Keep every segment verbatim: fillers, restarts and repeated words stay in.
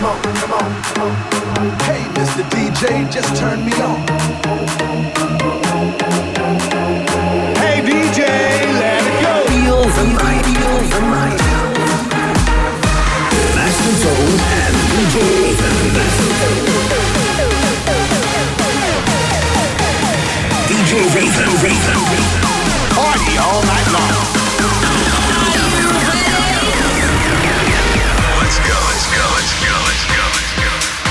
on, come on, come on. Hey, Mister D J, just turn me on. Hey, D J, let it go. Feel the night, feel the night. Master Tone and D J Ethan. D J Ethan, Ethan. Party all night long. Let's go, let's go, let's go, let's go, let's go.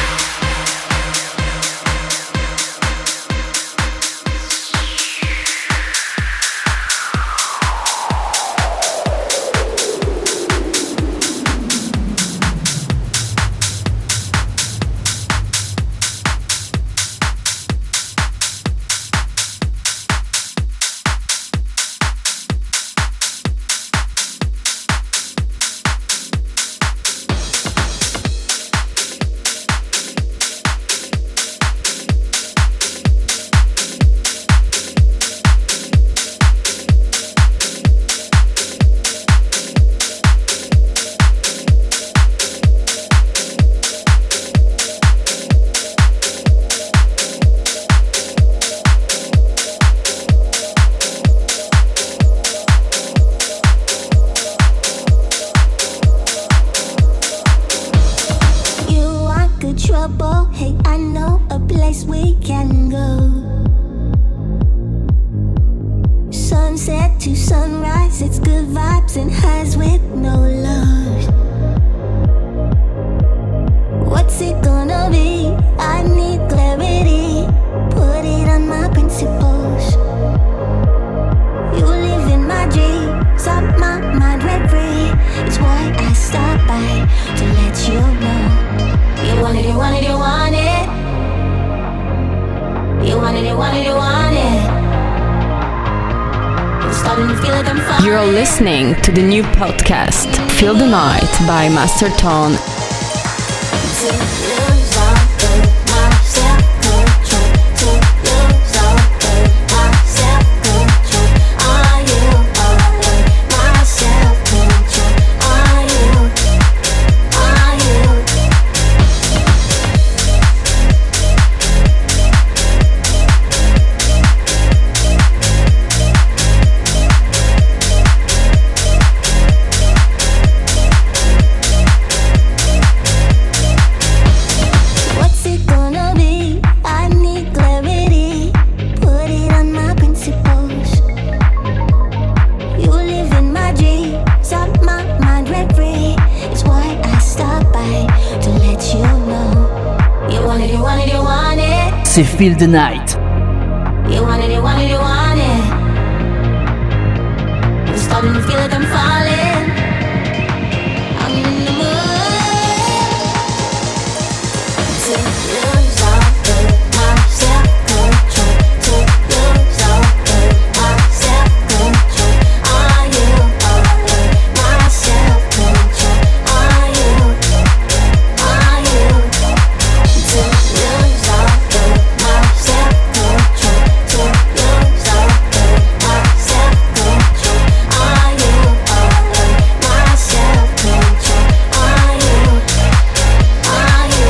You're listening to the new podcast, Feel the Night by Master Tone. C'est Feel the Night. You want it, you want it, you want it. I'm starting to feel like I'm falling. I'm in the mood to lose all of my self-control. To lose all of my self-control. Are you all of my self-control? Are you? Are you? To lose all of my self-control. To lose all of my self-control. Are you all of my self-control? Are you? Are you?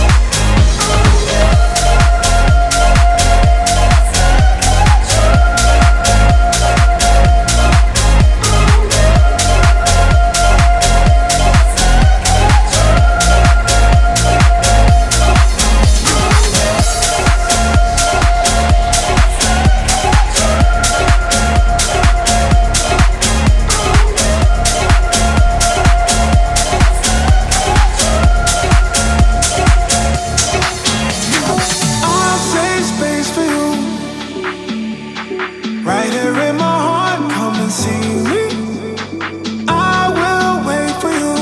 I'll save space for you. Right here in my heart, come and see me. I will wait for you.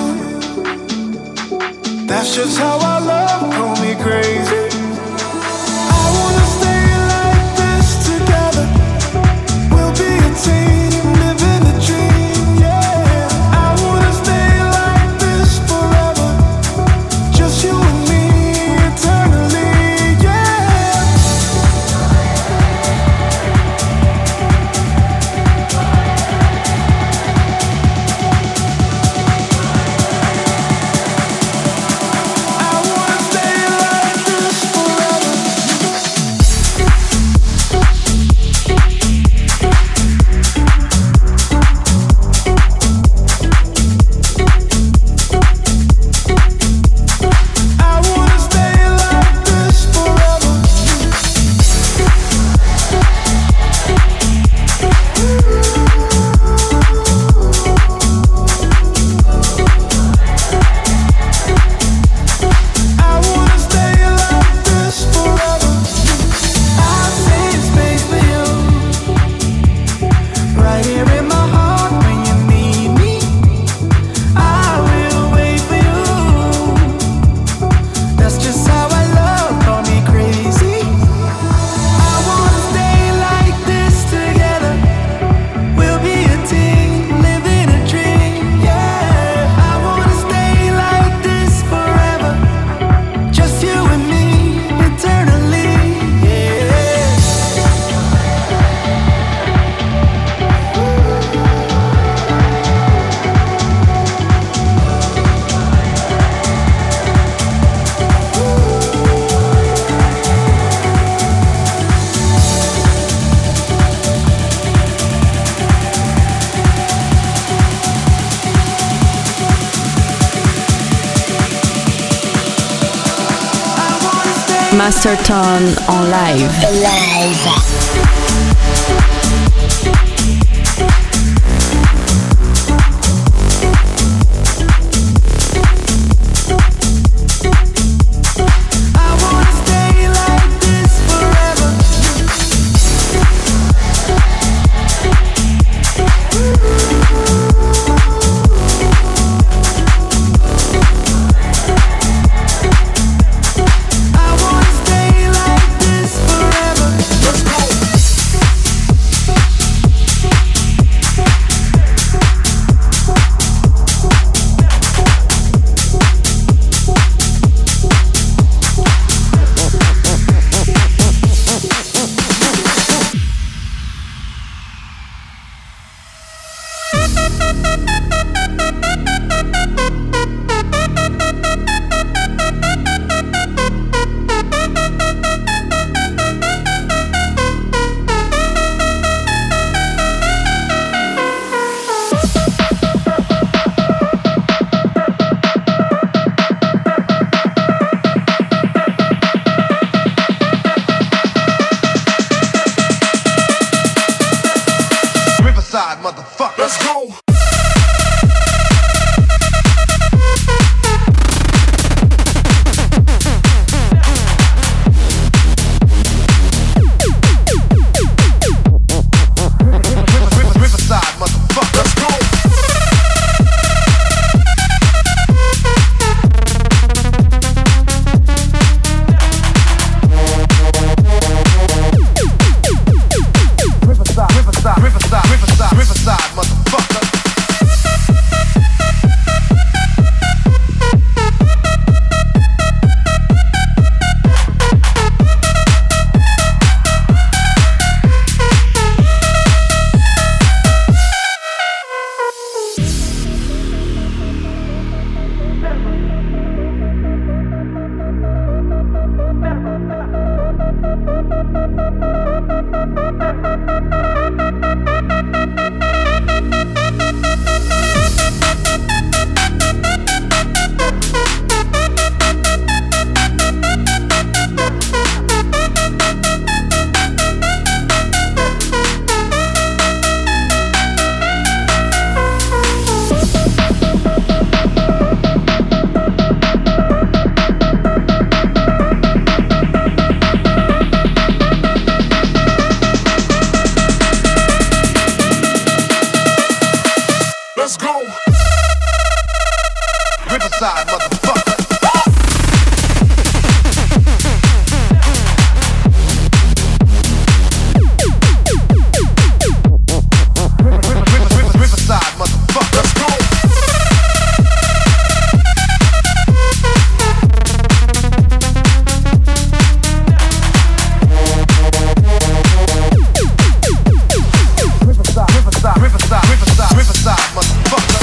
That's just how I love, call me crazy. I wanna stay like this together. We'll be a team, living a dream, yeah. I wanna stay like this forever. Just you and me, eternally, yeah. I Masterton en live. Live. Motherfucker, let's go. Riverside, motherfucker. Riverside, motherfucker. Let's go. Riverside, Riverside, Riverside, Riverside, Riverside, motherfucker.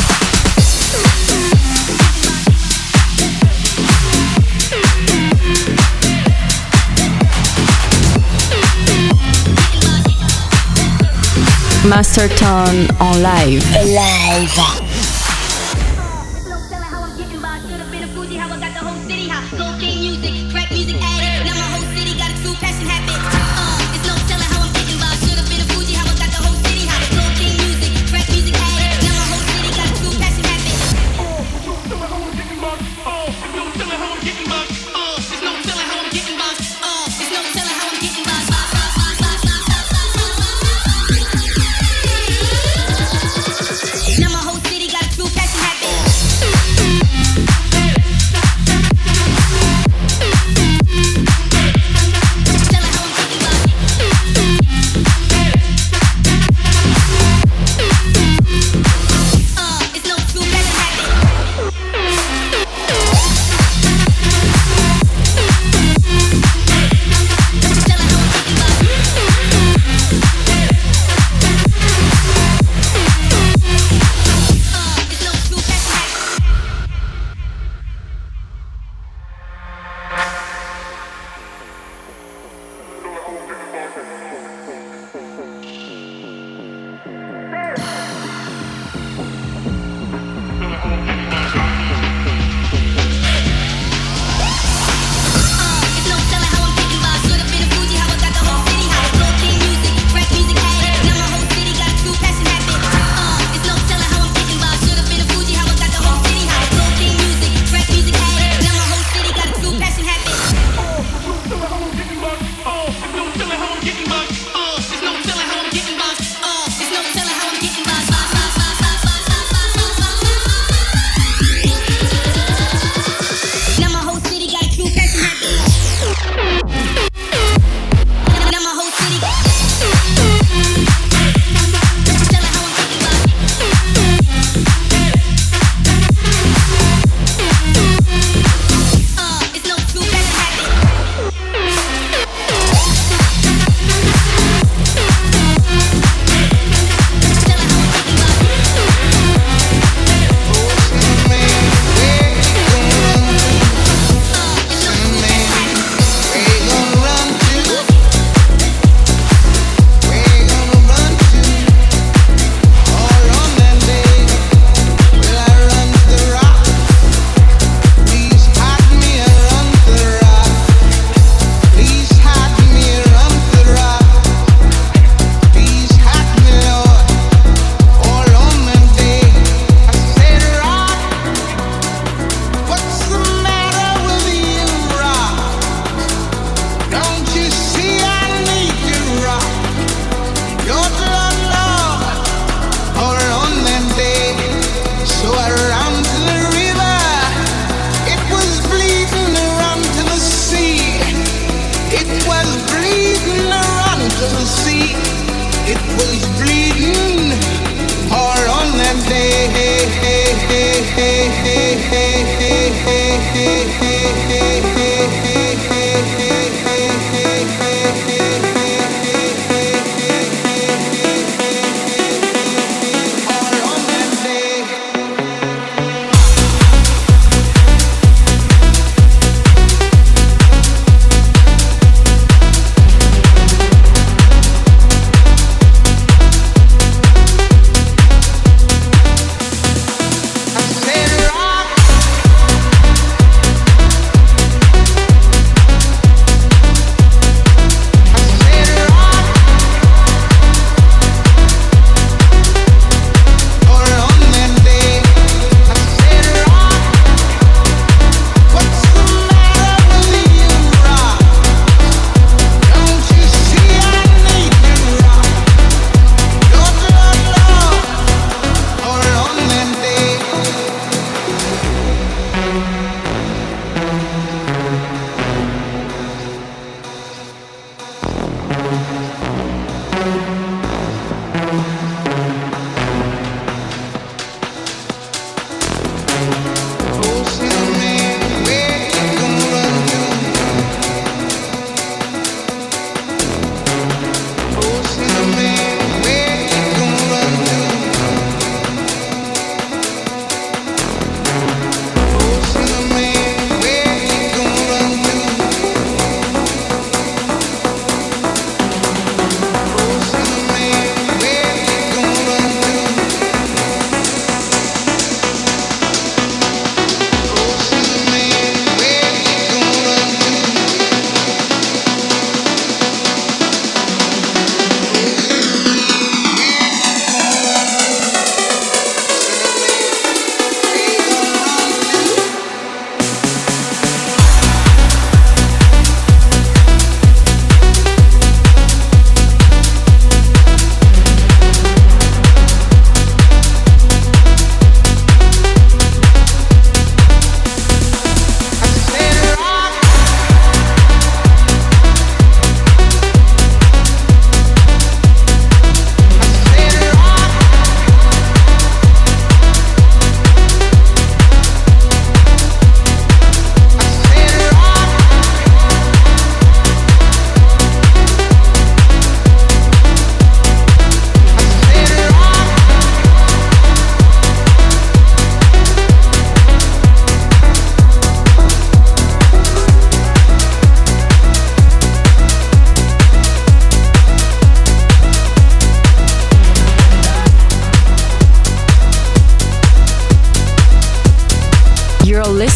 Masterton en live. Live. Now my whole city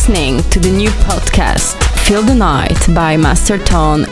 listening to the new podcast, Feel the Night by Master Tone.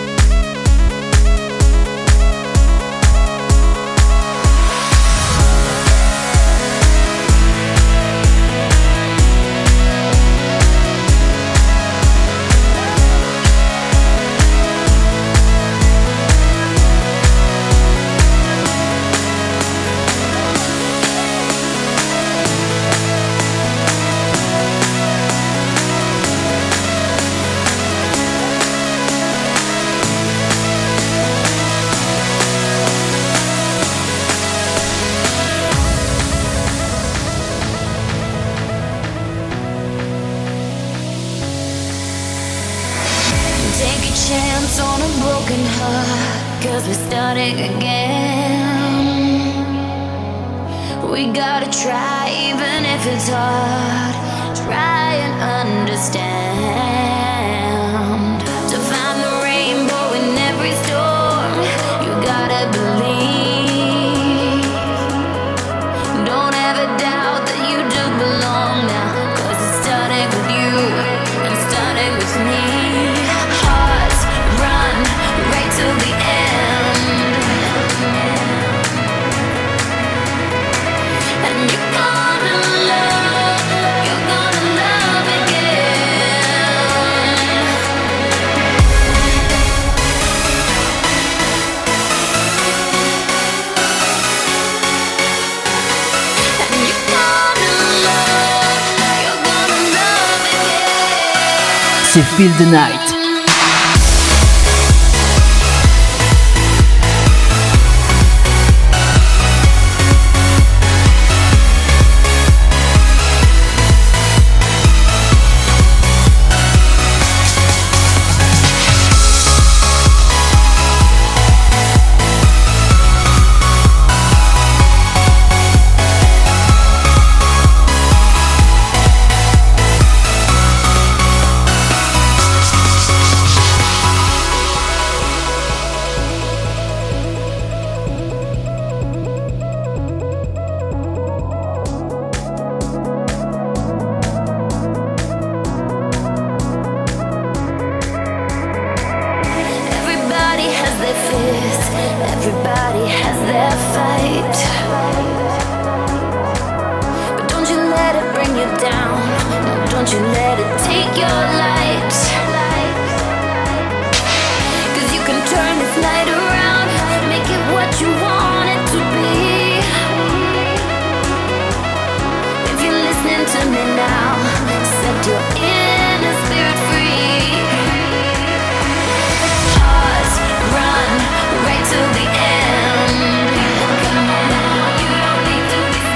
C'est Feel the Night.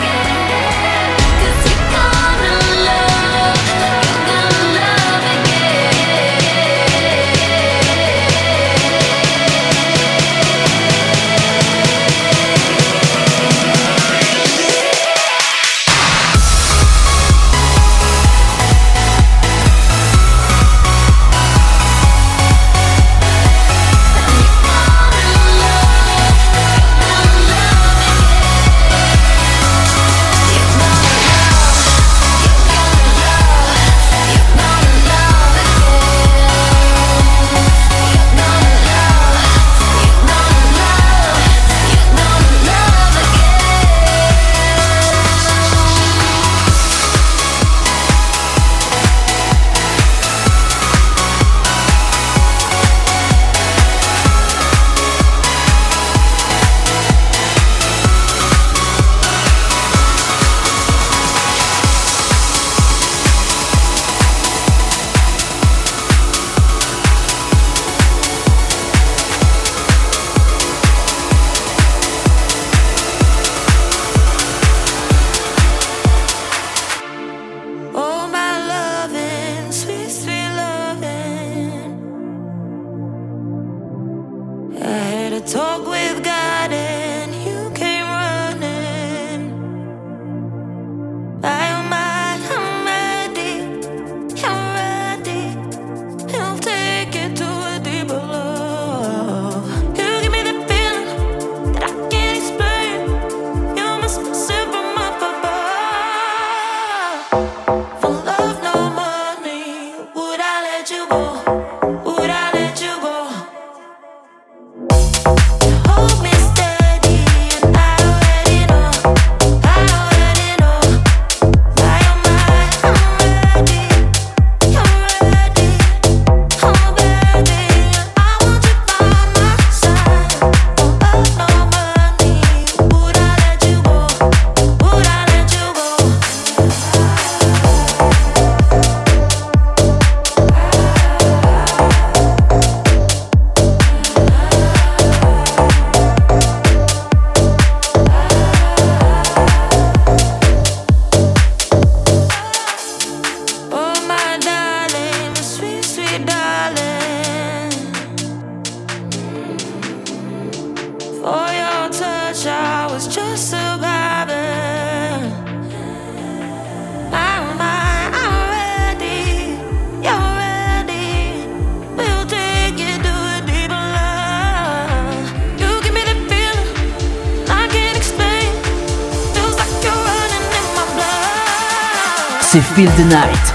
Again. c'est Feel the Night.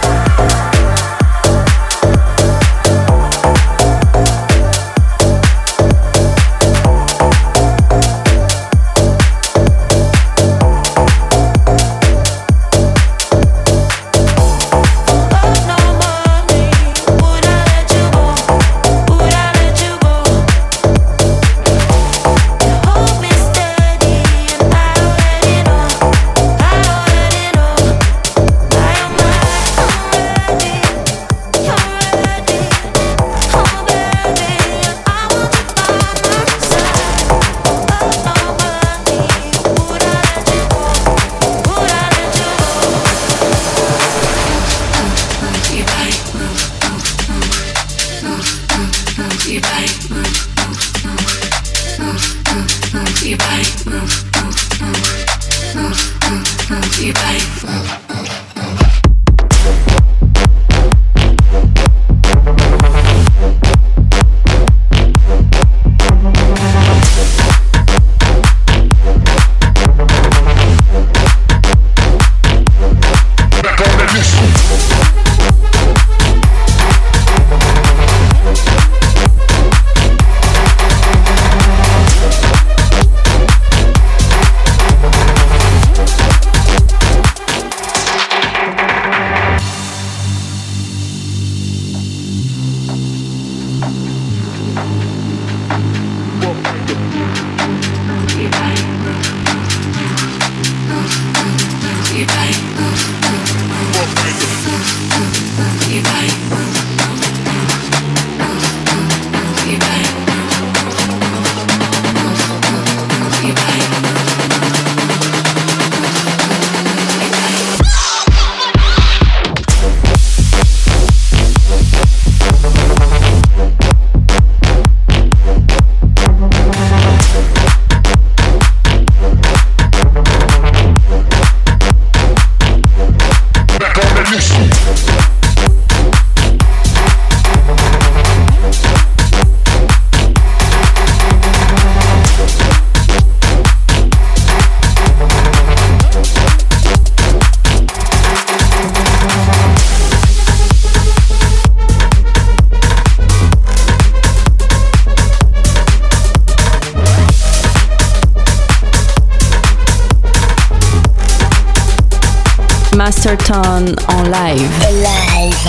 Masterton en live. Live.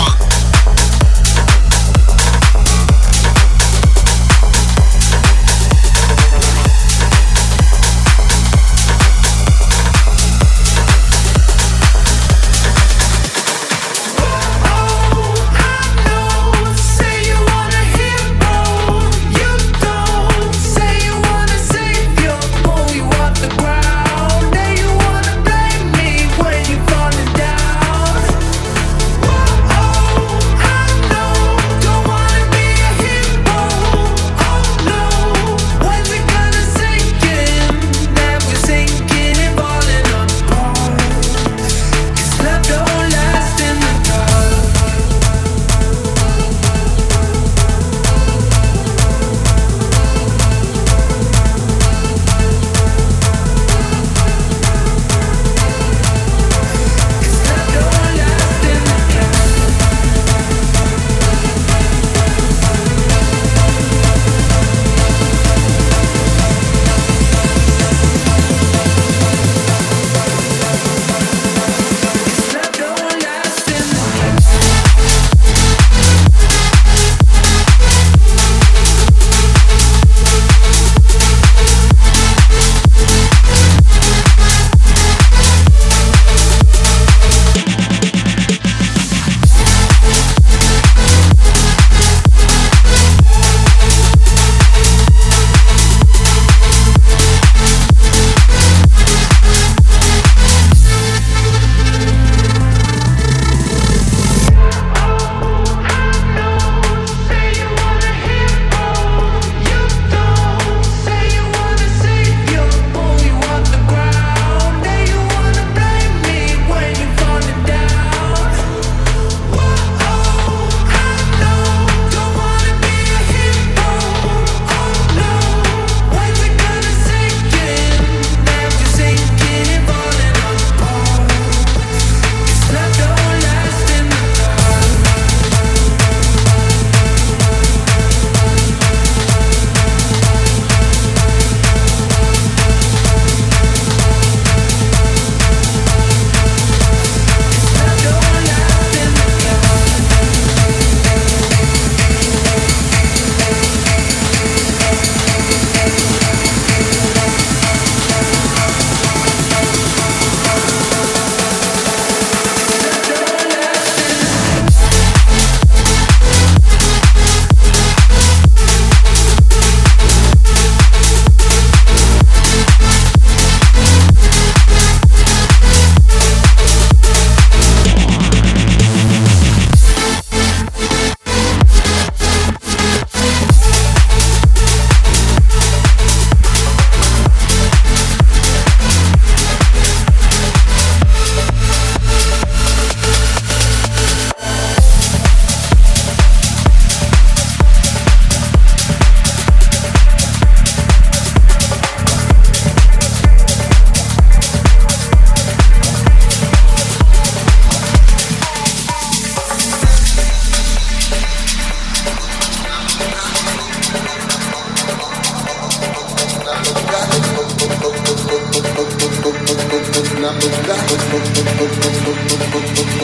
Oh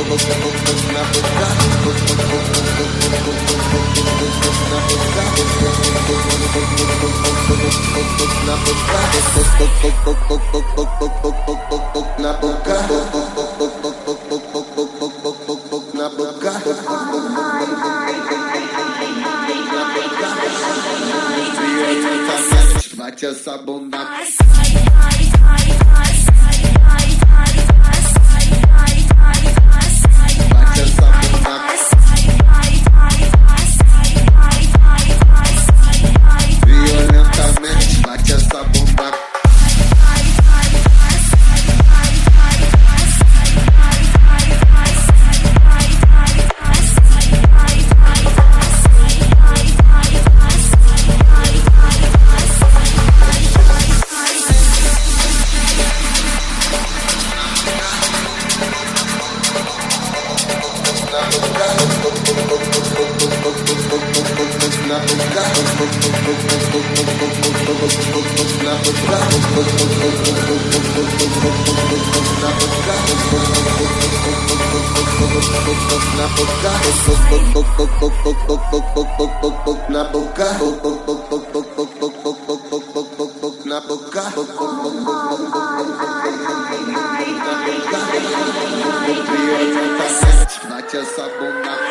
Bate essa bunda. Violentamente, bate essa bunda. Na boca, na boca, bate essa bunda.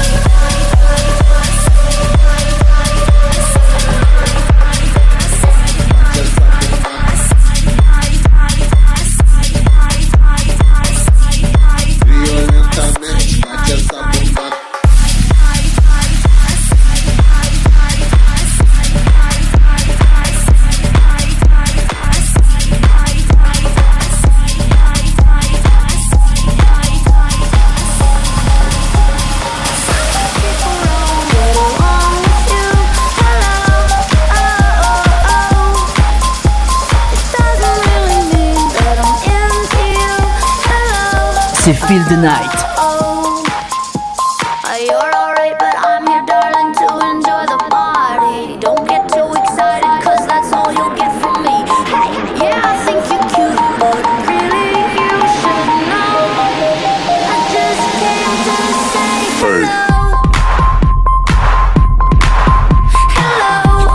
Violentamente, bate essa bunda. C'est Feel the Night. You're alright, but I'm here, darling, to enjoy the party. Don't get too excited, cause that's all you'll get from me. Hey, yeah, I think you're cute, but really you should know I just came to say hello. Hello.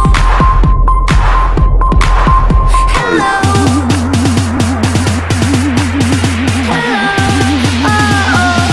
Hello. Hello. Oh, oh.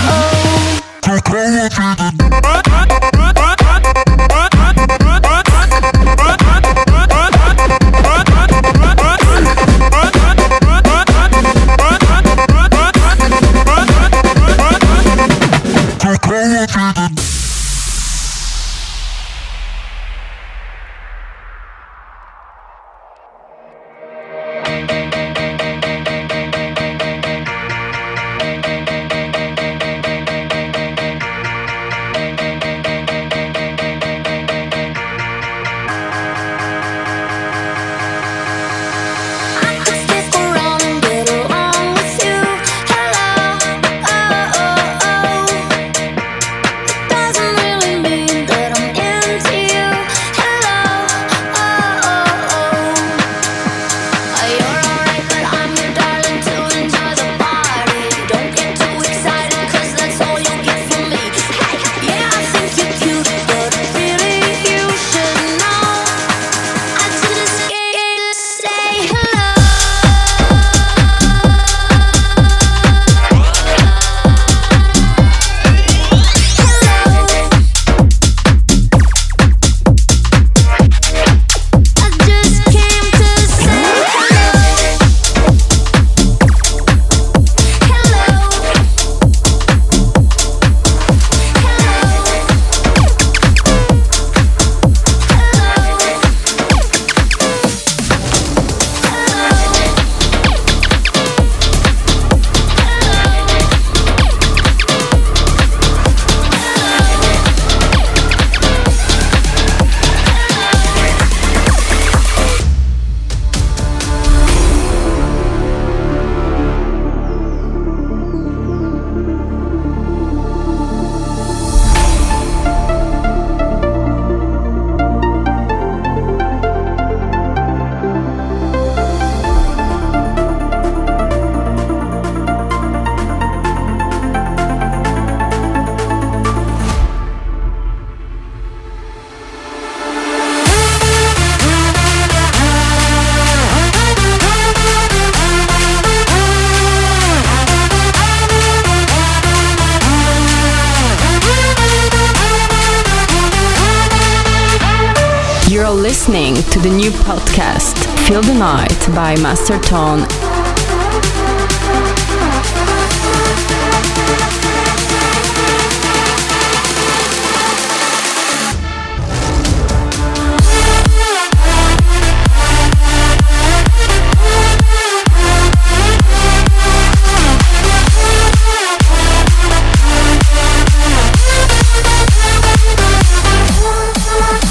You're listening to the new podcast, Feel the Night by Master Tone.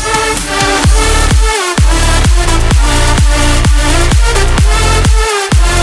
We'll be right back.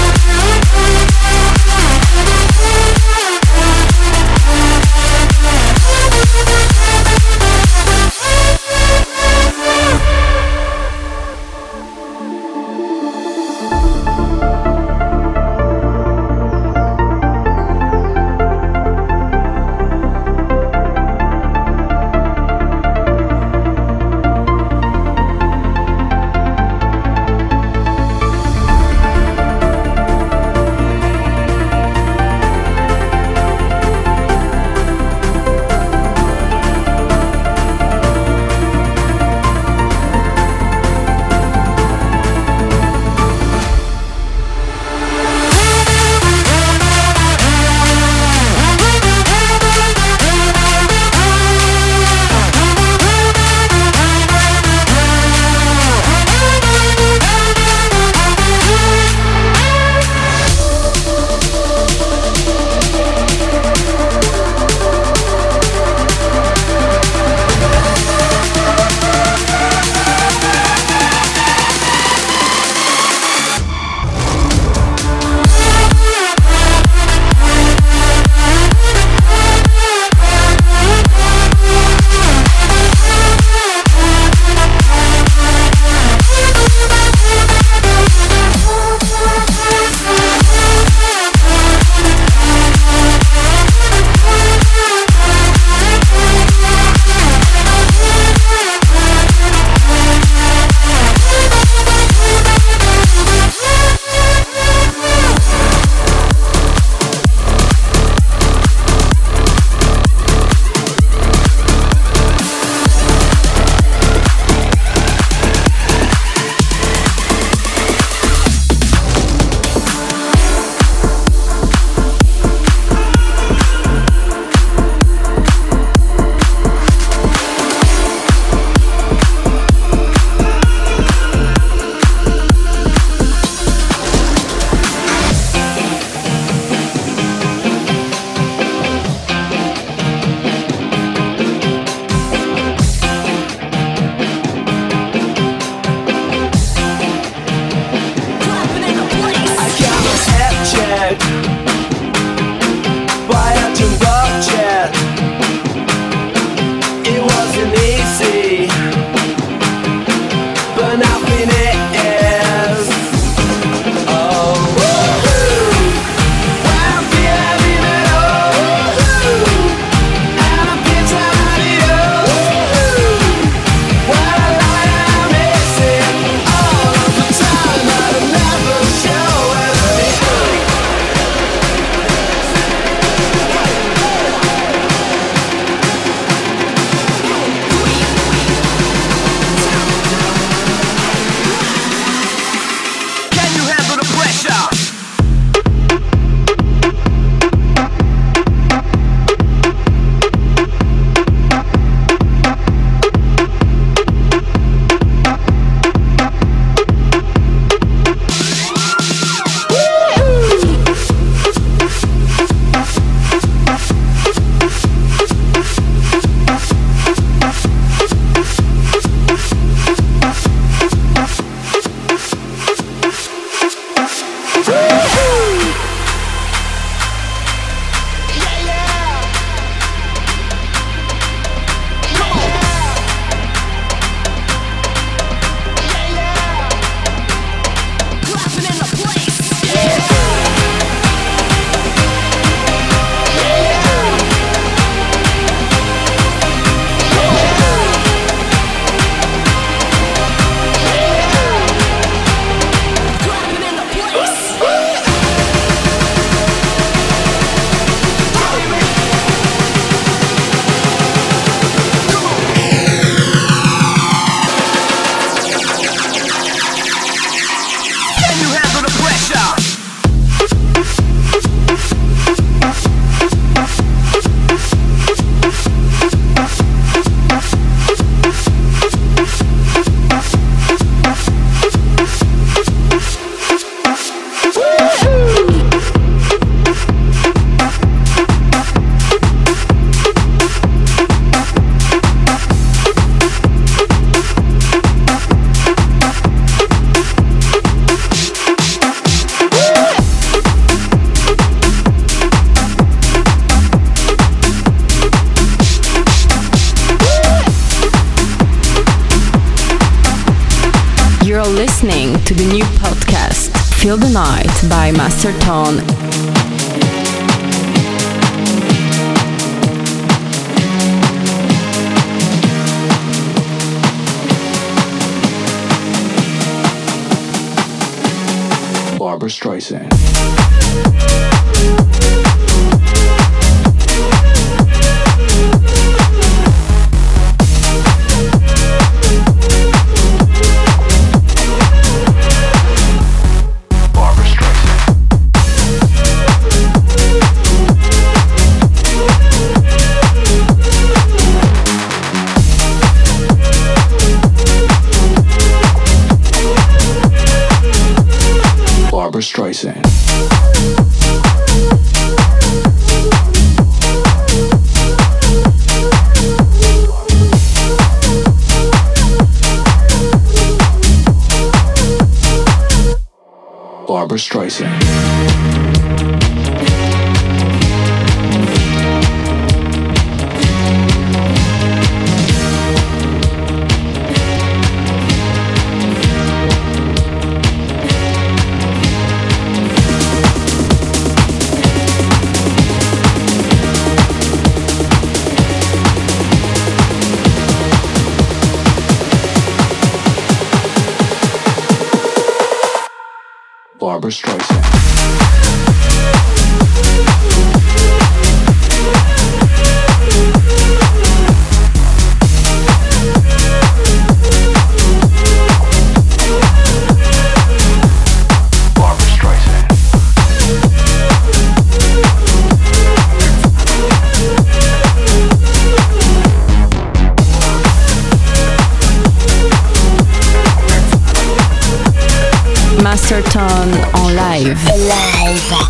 listening to the new podcast, Feel the Night by Master Tone. Barbra Streisand. Barbra Streisand. Barbra Streisand. Barbra Streisand. Master Tone en live. Live.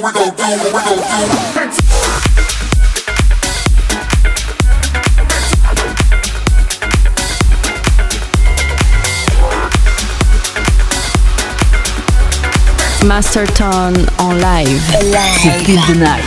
we gon' do, what we gon' do. Master Tone en live. C'est Feel the Night.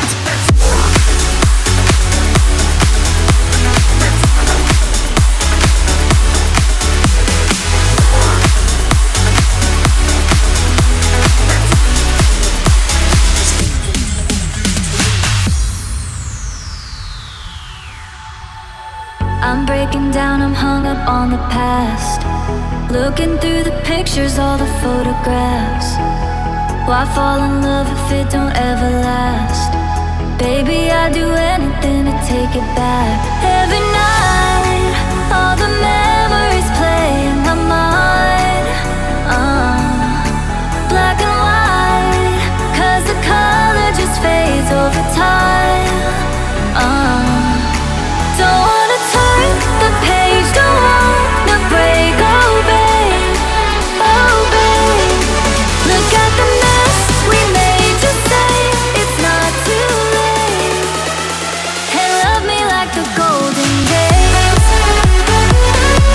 I'm breaking down, I'm hung up on the past. Looking through the pictures, all the photographs. Why fall in love if it don't ever last? Baby, I'd do anything to take it back. Every night, all the memories play in my mind. uh, Black and white, cause the color just fades over time. uh, Don't wanna turn the page, don't wanna break, oh babe, oh babe. Look at the mess we made, just say it's not too late. And love me like the golden days.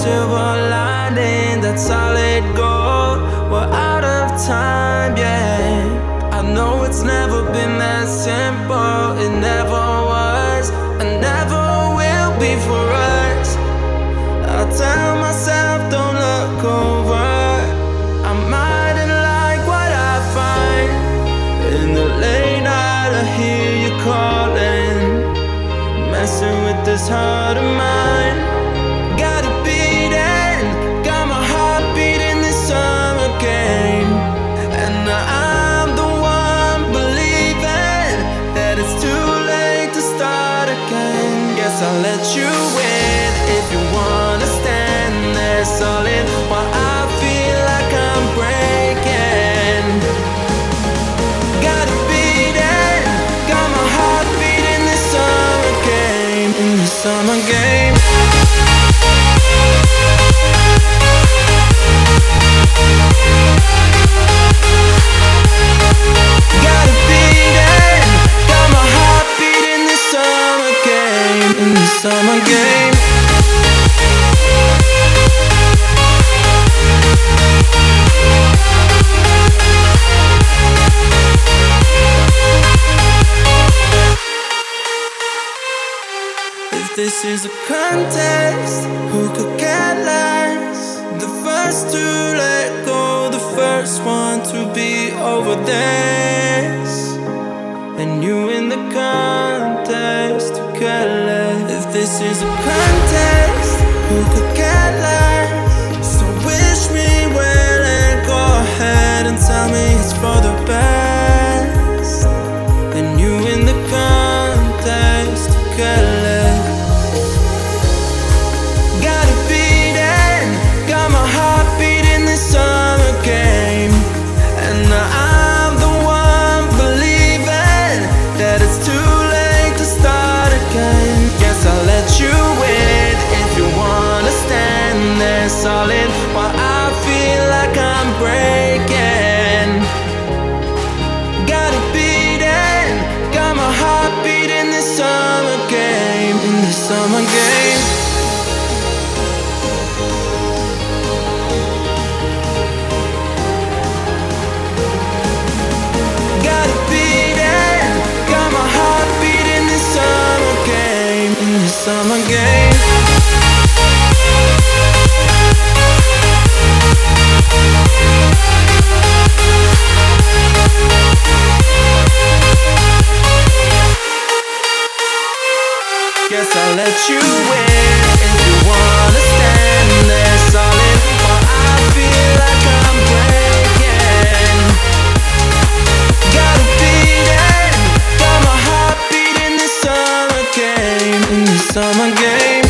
silver lining, that solid gold. We're out of time, yeah. I know it's never been that simple. It never was, and never will be for us. I tell myself, don't look over. I mightn't like what I find. In the late night, I hear you calling, messing with this heart of mine. Got it beating, got my heart beating this summer game. And I'm the one believing that it's too late to start again. Guess I'll let you in if you wanna stand there solid while I feel like I'm breaking. Got it beating, got my heart beating this summer game. In the summer game. Got it beating, got my heart beating this summer game. In the summer game. If this is a contest, who could get last? The first to let go, the first one to be over this. And you in the contest to get less. If this is a contest, who could get last? So wish me well and go ahead and tell me it's for the best. And you in the contest to get less. Got it beating, got my heart beating this summer game. And I'm the one believing that it's too late to start again. Guess I'll let you in if you wanna stand there solid while I feel like I'm breaking. Got it beating, got my heart beating this summer game. In this summer game. Got it beating, got my heart beating this summer game. In this summer game. Guess I'll let you in if you wanna stand there solid while I feel like I'm breaking. Got it beating, got my heart beating this summer game. In this summer game.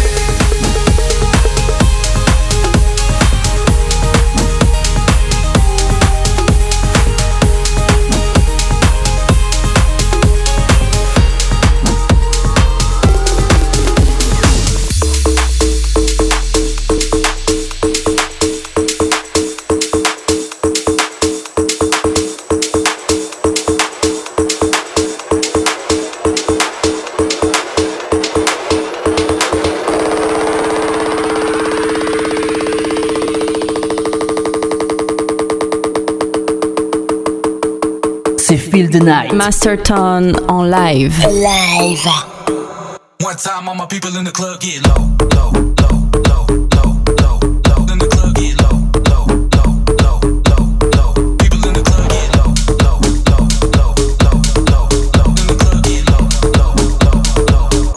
Feel the Night. Masterton en live. Live. One time all my people in the club get low, low, low, low, low, low, low. In the club get low, low, low, low, low, low. People in the club get low, low, low, low, low, low, low. In the club get low, low, low, low, low,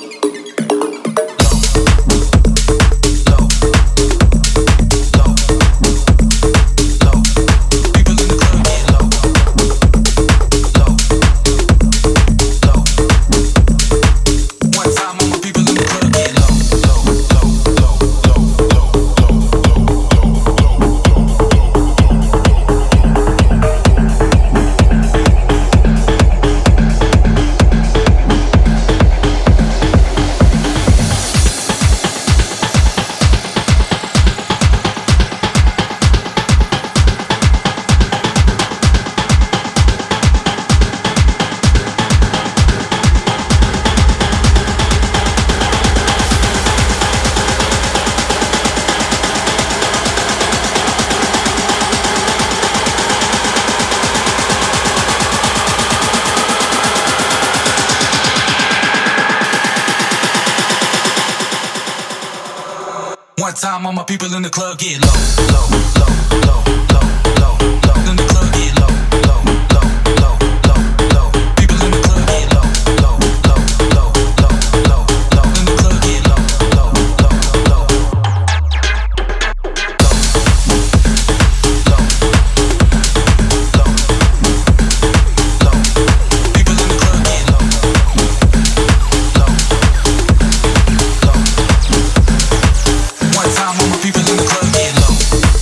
low, low, low. People in the club get low. One time all my people in the club get low, low, low. time, all my people in the club get low, low, low, low, low, low, low. In the club get low, low, low, low, low, low. People in the club get low, low, low, low, low, low, low. In the club get low, low, low, low, low, low, low. People in the club get low, low, low. One time, all my people in the club get low.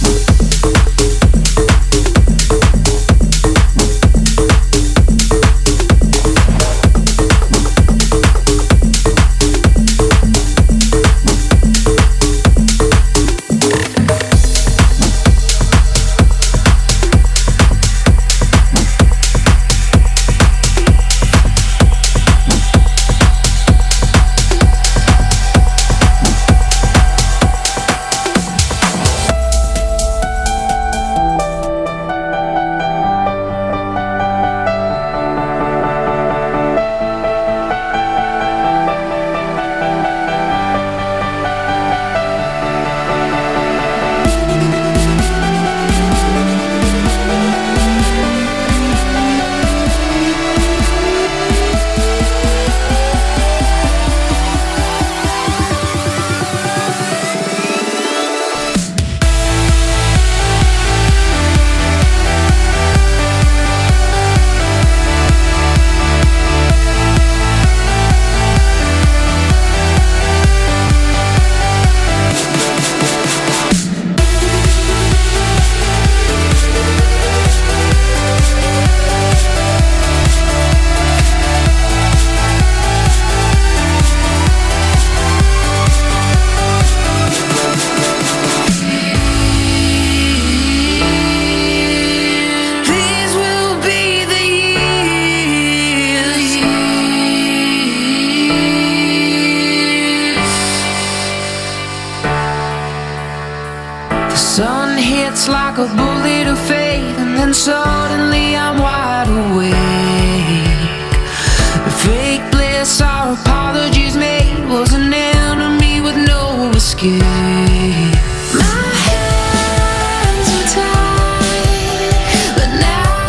Like a bullet of faith, and then suddenly I'm wide awake. The fake bliss our apologies made was an enemy with no escape. My hands are tied, but now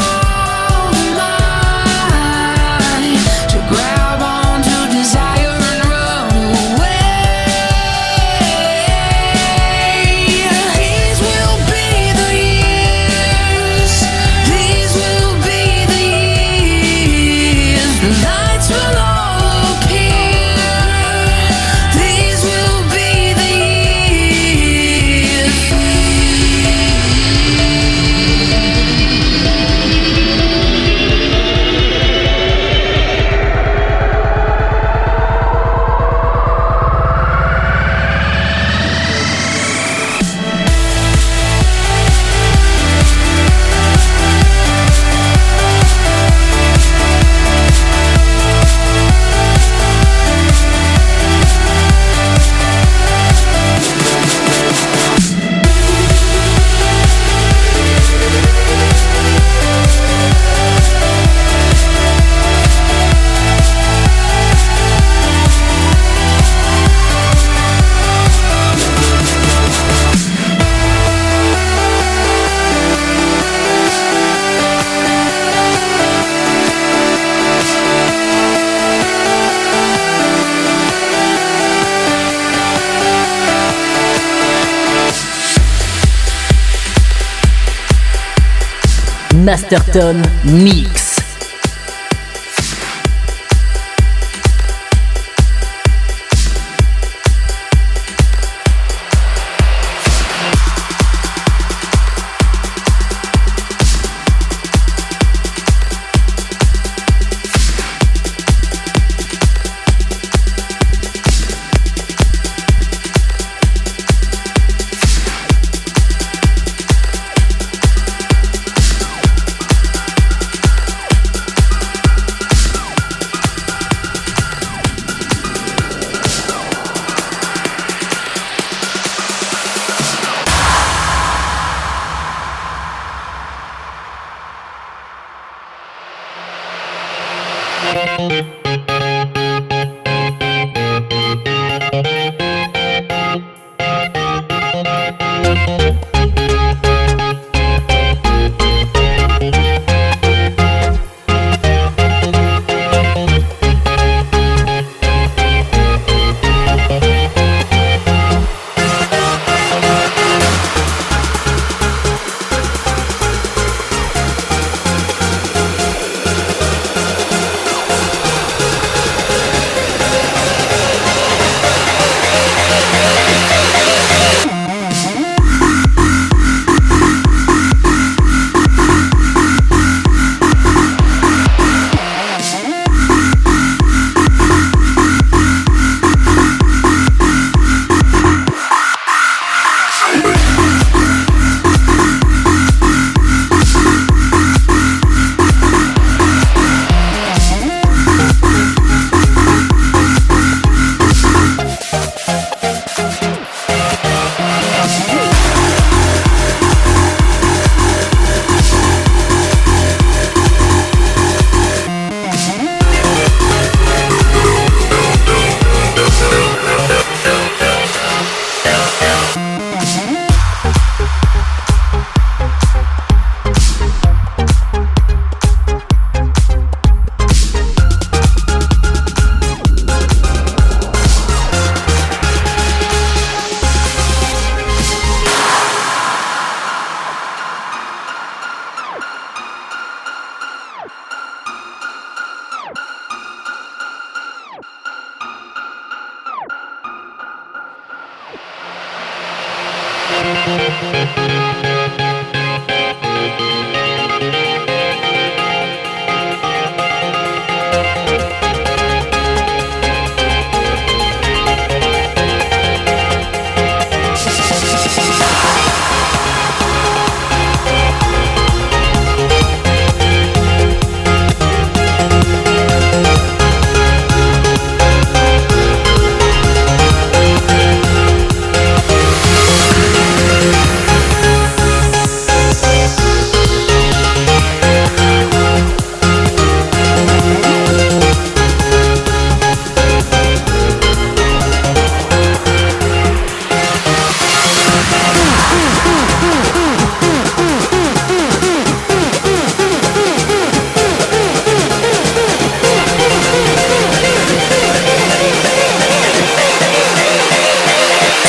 mine to grab onto desire and run away. These will be the years. These will be the years. The lights will all appear. These will be the years. Masterton Mix.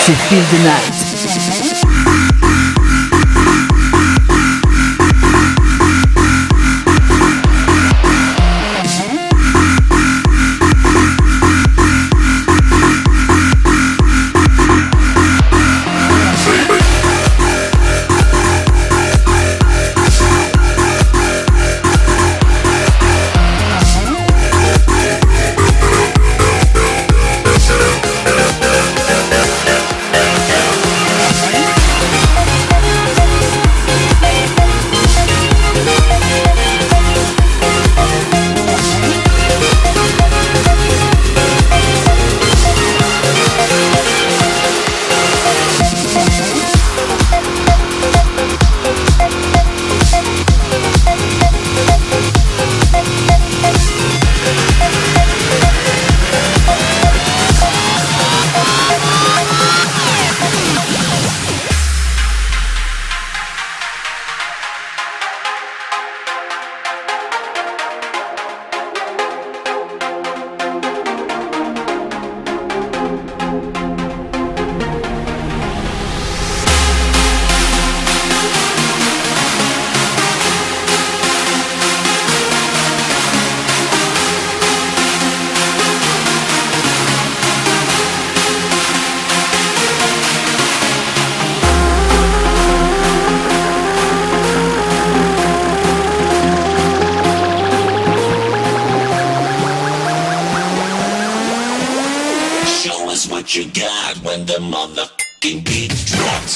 C'est Feel the Night. What you got when the motherfucking beat drops?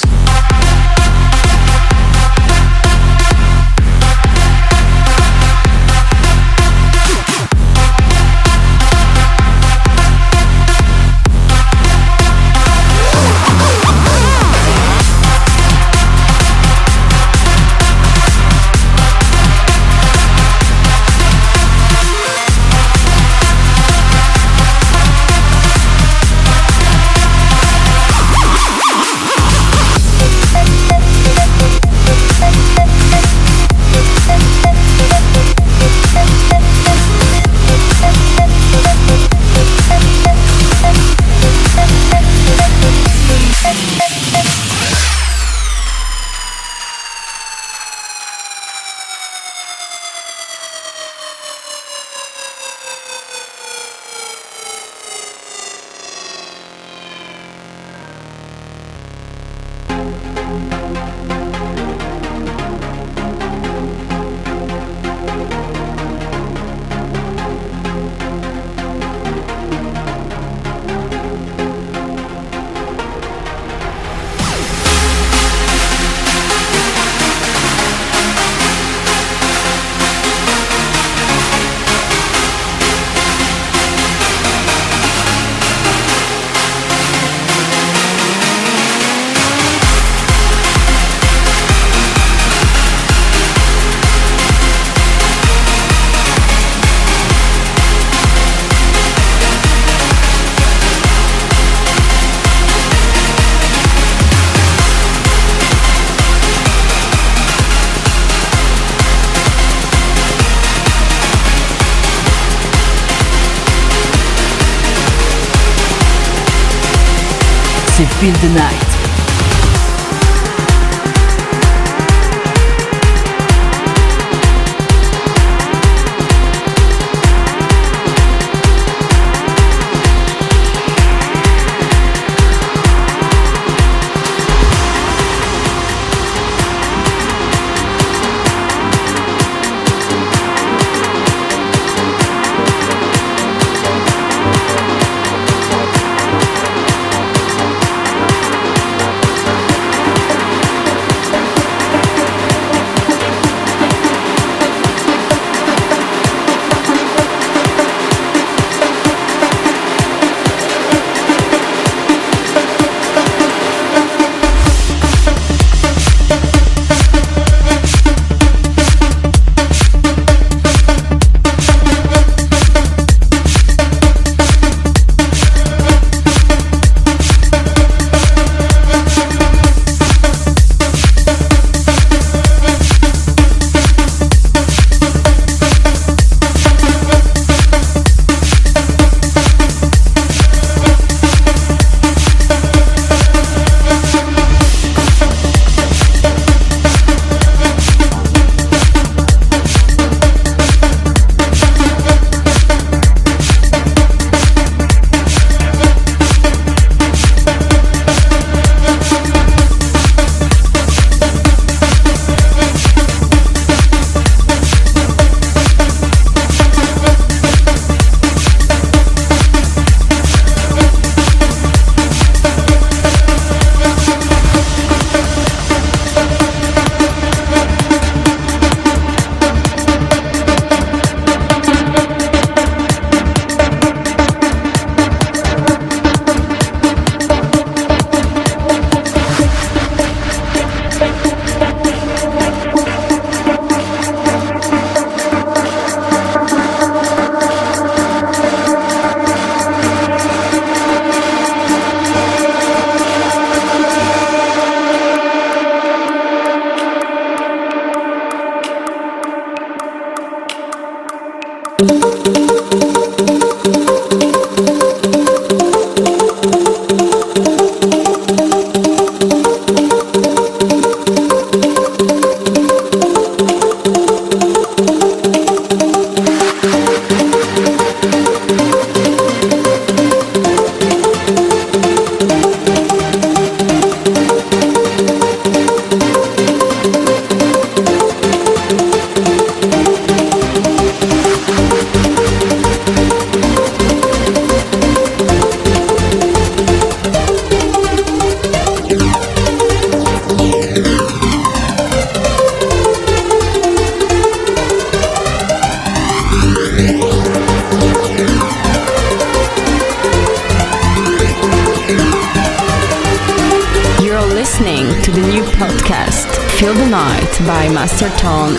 C'est Feel the Night. Night by Master Tone.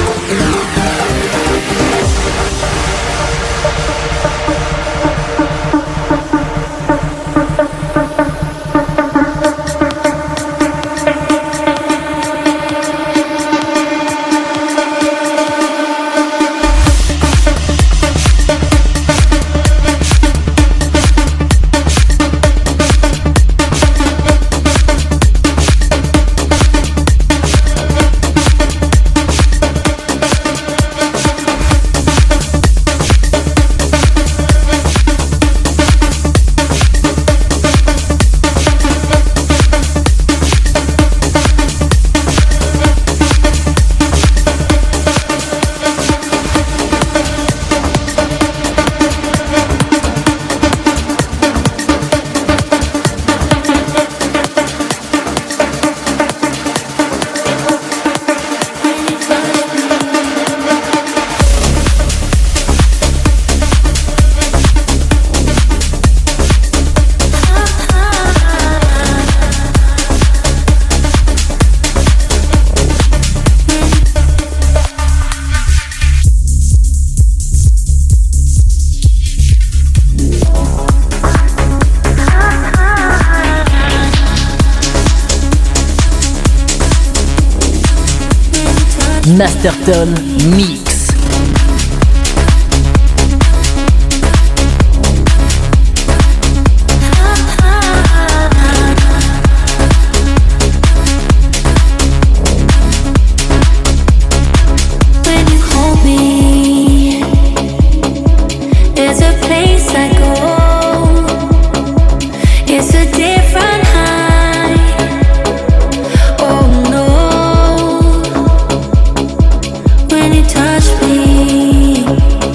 Masterton Mix. Touch me.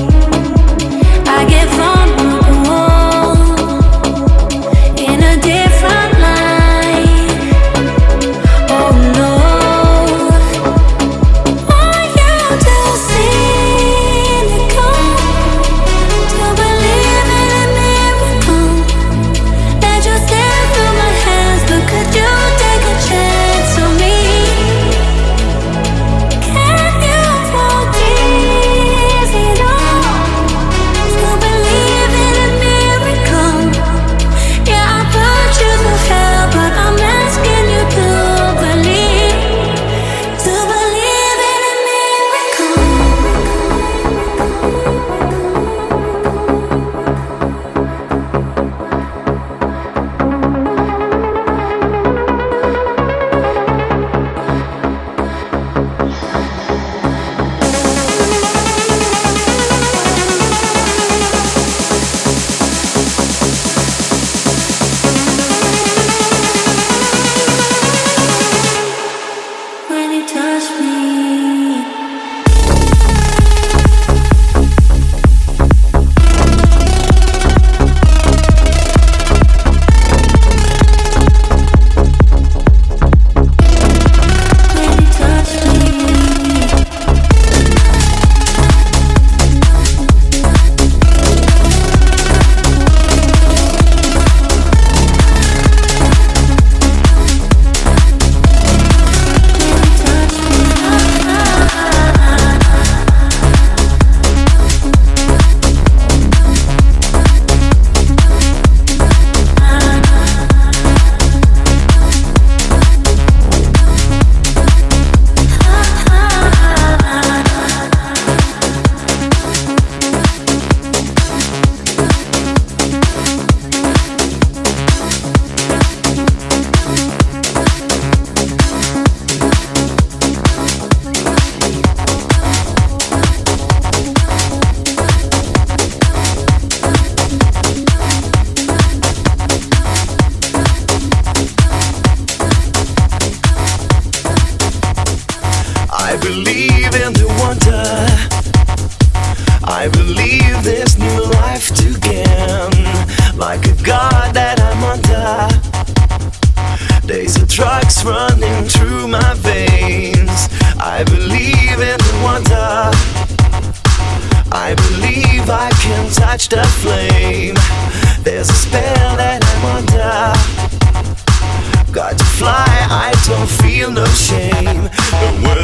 touch the flame. There's a spell that I'm under. Got to fly, I don't feel no shame. But when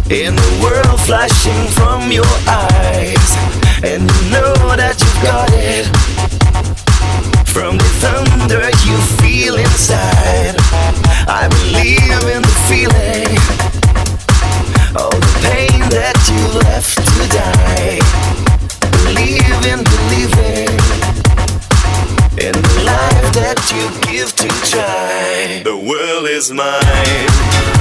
in the world flashing from your eyes, and you know that you've got it from the thunder you feel inside. I believe in the feeling, all the pain that you left to die. Believe in believing in the life that you give to try. The world is mine.